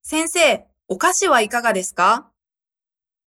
先生、お菓子はいかがですか？